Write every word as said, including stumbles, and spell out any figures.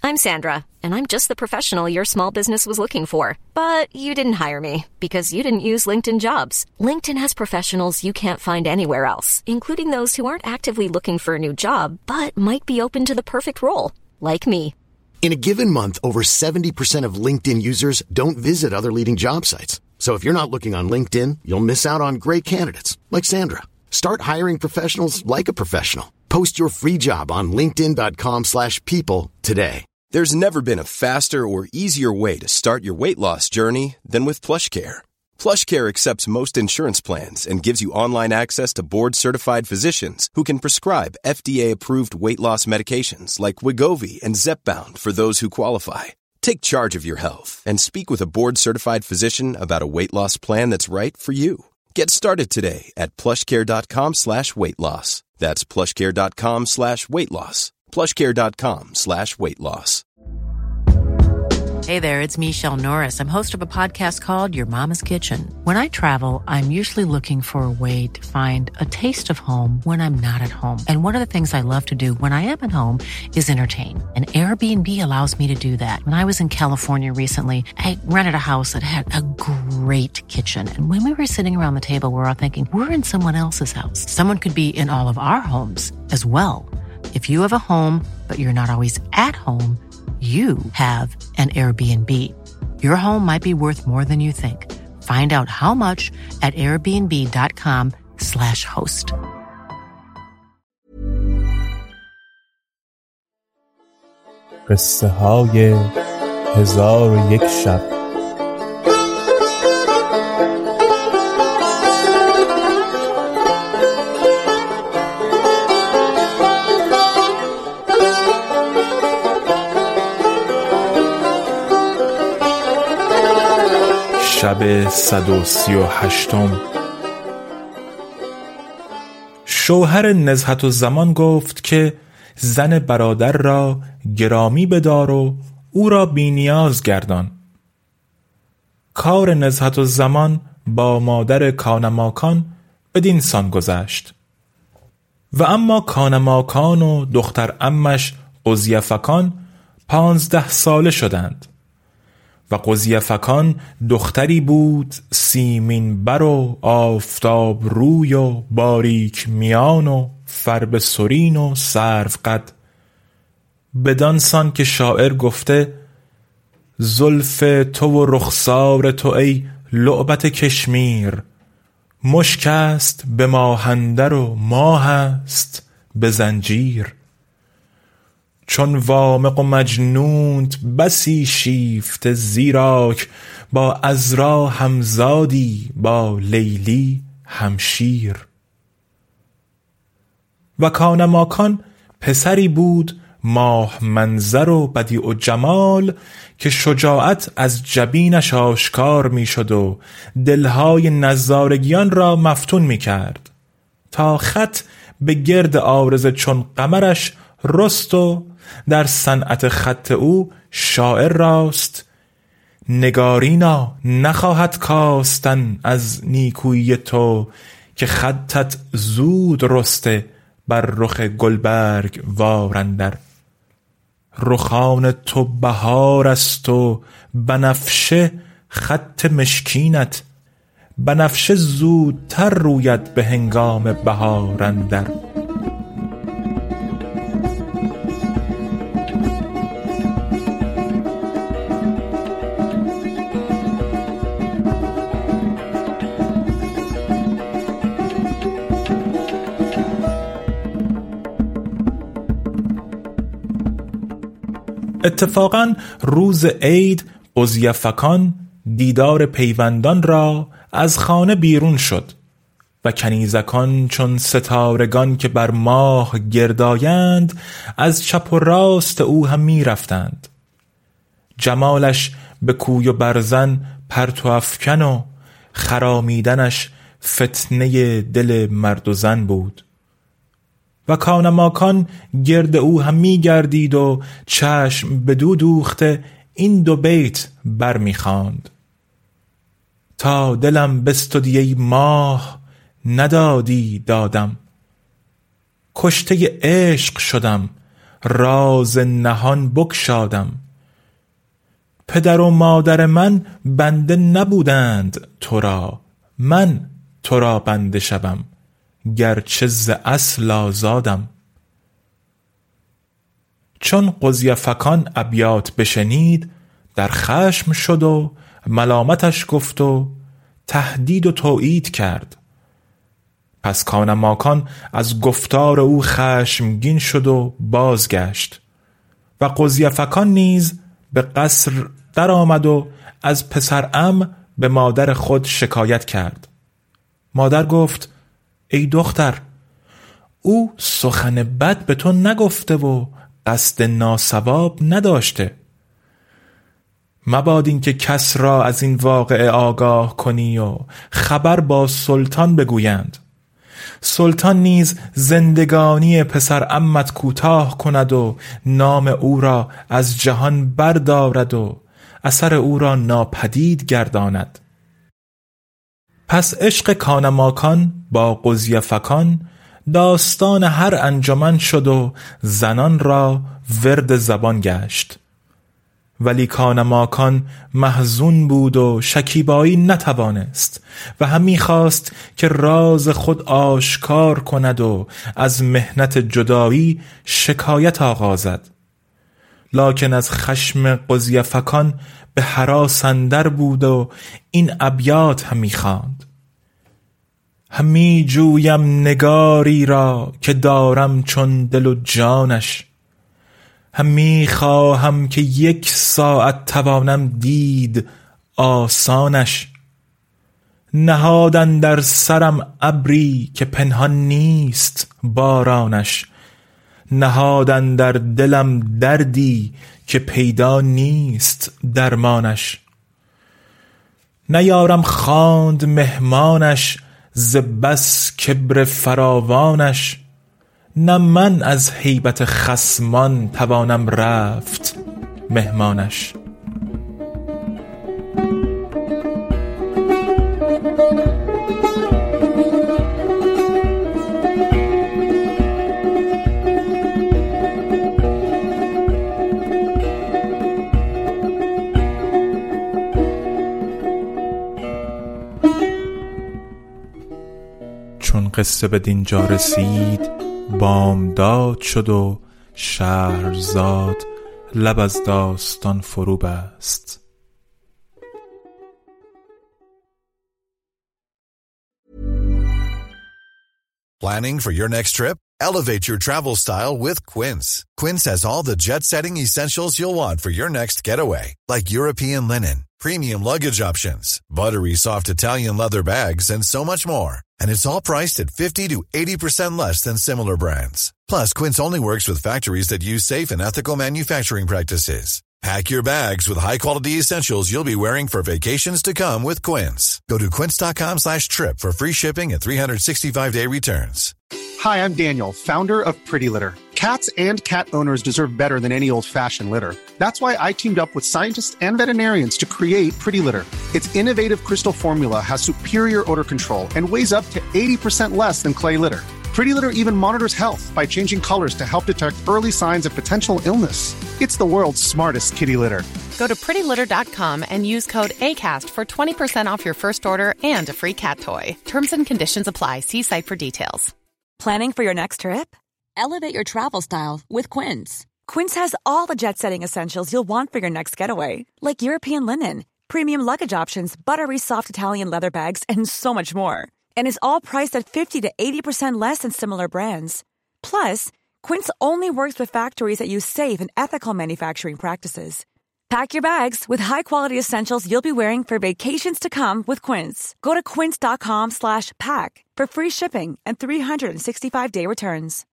I'm Sandra, and I'm just the professional your small business was looking for. But you didn't hire me because you didn't use LinkedIn Jobs. LinkedIn has professionals you can't find anywhere else, including those who aren't actively looking for a new job, but might be open to the perfect role, like me. In a given month, over seventy percent of LinkedIn users don't visit other leading job sites. So if you're not looking on LinkedIn, you'll miss out on great candidates, like Sandra. Start hiring professionals like a professional. Post your free job on linkedin.com slash people today. There's never been a faster or easier way to start your weight loss journey than with PlushCare. PlushCare accepts most insurance plans and gives you online access to board-certified physicians who can prescribe F D A-approved weight loss medications like Wegovy and Zepbound for those who qualify. Take charge of your health and speak with a board-certified physician about a weight loss plan that's right for you. Get started today at plushcare.com slash weight loss. That's plushcare.com slash weight loss. plushcare.com slash weight loss. Hey there, it's Michelle Norris. I'm host of a podcast called Your Mama's Kitchen. When I travel, I'm usually looking for a way to find a taste of home when I'm not at home. And one of the things I love to do when I am at home is entertain. And Airbnb allows me to do that. When I was in California recently, I rented a house that had a great kitchen. And when we were sitting around the table, we were all thinking, we're in someone else's house. Someone could be in all of our homes as well. If you have a home, but you're not always at home, you have an Airbnb. Your home might be worth more than you think. Find out how much at airbnb.com slash host. قصه های هزار و یک شب. شب صد و سی و هشتم. شوهر نزهت الزمان گفت که زن برادر را گرامی بدار و او را بی نیاز گردان. کار نزهت الزمان با مادر کانماکان بدین سان گذشت. و اما کانماکان و دختر عمش قضیفکان پانزده ساله شدند. و قضیفکان دختری بود سیمین بر و آفتاب روی و باریک میان و فرب سرین و سرو قد، بدان سان که شاعر گفته زلف تو و رخسار تو ای لعبت کشمیر، مشک است به ماهندر و ماه است به زنجیر. چون وامق و مجنونت بسی شیفته زیراک، با عذرا همزادی با لیلی همشیر. و کانماکان پسری بود ماه منظر و بدیع و جمال، که شجاعت از جبینش آشکار می شد و دلهای نظارگیان را مفتون می کرد، تا خط به گرد عارض چون قمرش رست و در صنعت خط او شاعر راست. نگارینا نخواهد کاستن از نیکویی تو، که خطت زود رسته بر رخ گلبرگ وارندر. رخان تو بهار است و بنفشه خط مشکینت، بنفشه زودتر روید به هنگام بهارندر. اتفاقاً روز عید قضیفکان دیدار پیوندان را از خانه بیرون شد و کنیزکان چون ستارگان که بر ماه گردایند از چپ و راست او هم می رفتند. جمالش به کوی و برزن پرتو افکن و خرامیدنش فتنه دل مرد و زن بود. و کانماکان گرد او هم می گردید و چشم به دو دوخته این دو بیت بر می خواند: تا دلم بستدی ای ماه ندادی دادم، کشته عشق شدم راز نهان بگشادم. پدر و مادر من بنده نبودند تو را، من تو را بنده شوم گرچه ز اصل آزادم. چون قضیفکان ابیات بشنید در خشم شد و ملامتش گفت و تهدید و توعید کرد. پس کانماکان از گفتار او خشمگین شد و بازگشت و قضیفکان نیز به قصر در آمد و از پسر عم به مادر خود شکایت کرد. مادر گفت ای دختر، او سخن بد به تو نگفته و قصد ناصواب نداشته. مباد این که کس را از این واقعه آگاه کنی و خبر با سلطان بگویند. سلطان نیز زندگانی پسر عمت کوتاه کند و نام او را از جهان بردارد و اثر او را ناپدید گرداند. پس عشق کانماکان با قضیفکان داستان هر انجمن شد و زنان را ورد زبان گشت. ولی کانماکان محزون بود و شکیبایی نتوانست و همی خواست که راز خود آشکار کند و از محنت جدایی شکایت آغازد. لکن از خشم قضیفکان به هراس اندر بود و این ابیات همی خواند: همی جویم نگاری را که دارم چون دل و جانش، همی خواهم که یک ساعت توانم دید آسانش. نهادن در سرم ابری که پنهان نیست بارانش، نهادن در دلم دردی که پیدا نیست درمانش. نیارم خواند مهمانش ز بس کبر فراوانش، نه من از هیبت خصمان توانم رفت مهمانش. چون قصه به دینجا رسید بامداد شد و شهرزاد لب از داستان فرو بست. Planning for your next trip? Elevate your travel style with Quince. Quince has all the jet-setting essentials you'll want for your next getaway, like European linen, premium luggage options, buttery soft Italian leather bags, and so much more. And it's all priced at fifty to eighty percent less than similar brands. Plus, Quince only works with factories that use safe and ethical manufacturing practices. Pack your bags with high-quality essentials you'll be wearing for vacations to come with Quince. Go to quince.com slash trip for free shipping and three sixty-five day returns. Hi, I'm Daniel, founder of Pretty Litter. Cats and cat owners deserve better than any old-fashioned litter. That's why I teamed up with scientists and veterinarians to create Pretty Litter. Its innovative crystal formula has superior odor control and weighs up to eighty percent less than clay litter. Pretty Litter even monitors health by changing colors to help detect early signs of potential illness. It's the world's smartest kitty litter. Go to pretty litter dot com and use code ACAST for twenty percent off your first order and a free cat toy. Terms and conditions apply. See site for details. Planning for your next trip? Elevate your travel style with Quince. Quince has all the jet-setting essentials you'll want for your next getaway, like European linen, premium luggage options, buttery soft Italian leather bags, and so much more. And is all priced at fifty to eighty percent less than similar brands. Plus, Quince only works with factories that use safe and ethical manufacturing practices. Pack your bags with high-quality essentials you'll be wearing for vacations to come with Quince. Go to quince.com slash pack for free shipping and three sixty-five day returns.